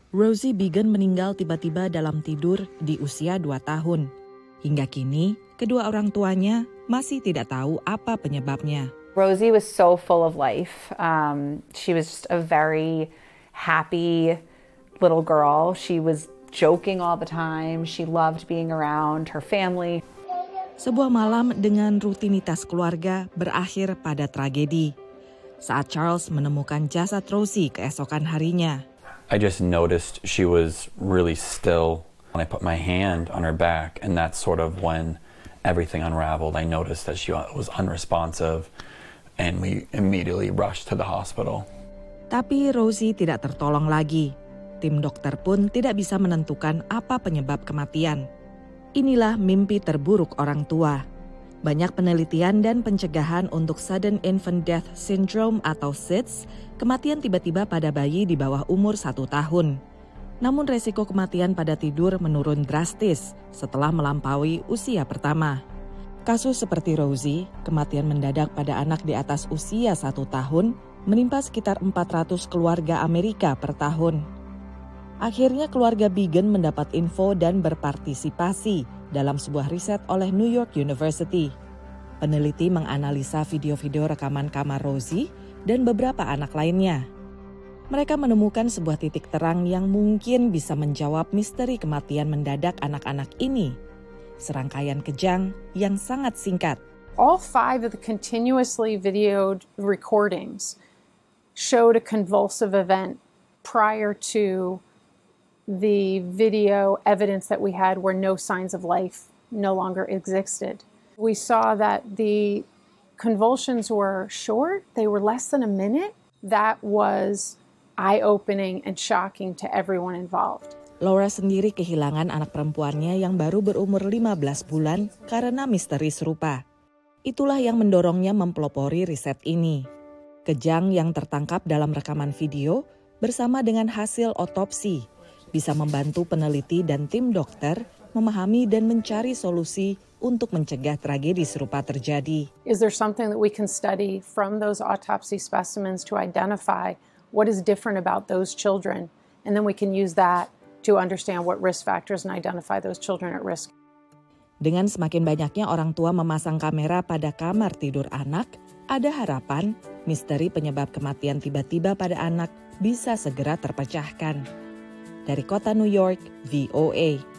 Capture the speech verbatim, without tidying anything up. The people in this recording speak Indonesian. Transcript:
Rosie Biggin meninggal tiba-tiba dalam tidur di usia dua tahun. Hingga kini, kedua orang tuanya masih tidak tahu apa penyebabnya. Rosie was so full of life. Um, she was just a very happy little girl. She was joking all the time. She loved being around her family. Sebuah malam dengan rutinitas keluarga berakhir pada tragedi. Saat Charles menemukan jasad Rosie keesokan harinya. I just noticed she was really still. When I put my hand on her back, and that's sort of when everything unraveled. I noticed that she was unresponsive, and we immediately rushed to the hospital. Tapi Rosie tidak tertolong lagi. Tim dokter pun tidak bisa menentukan apa penyebab kematian. Inilah mimpi terburuk orang tua. Banyak penelitian dan pencegahan untuk Sudden Infant Death Syndrome atau S I D S, kematian tiba-tiba pada bayi di bawah umur satu tahun. Namun resiko kematian pada tidur menurun drastis setelah melampaui usia pertama. Kasus seperti Rosie, kematian mendadak pada anak di atas usia satu tahun, menimpa sekitar empat ratus keluarga Amerika per tahun. Akhirnya keluarga Biggin mendapat info dan berpartisipasi dalam sebuah riset oleh New York University. Peneliti menganalisa video-video rekaman kamar Rosie dan beberapa anak lainnya. Mereka menemukan sebuah titik terang yang mungkin bisa menjawab misteri kematian mendadak anak-anak ini. Serangkaian kejang yang sangat singkat. All five of the continuously videoed recordings showed a convulsive event prior to the video evidence that we had where no signs of life no longer existed. We saw that the convulsions were short, they were less than a minute. That was eye-opening and shocking to everyone involved. Laura sendiri kehilangan anak perempuannya yang baru berumur lima belas bulan karena misteri serupa. Itulah yang mendorongnya mempelopori riset ini. Kejang yang tertangkap dalam rekaman video bersama dengan hasil otopsi bisa membantu peneliti dan tim dokter memahami dan mencari solusi untuk mencegah tragedi serupa terjadi. Is there something that we can study from those autopsy specimens to identify what is different about those children? And then we can use that to understand what risk factors and identify those children at risk. Dengan semakin banyaknya orang tua memasang kamera pada kamar tidur anak, ada harapan misteri penyebab kematian tiba-tiba pada anak bisa segera terpecahkan. Dari kota New York, V O A.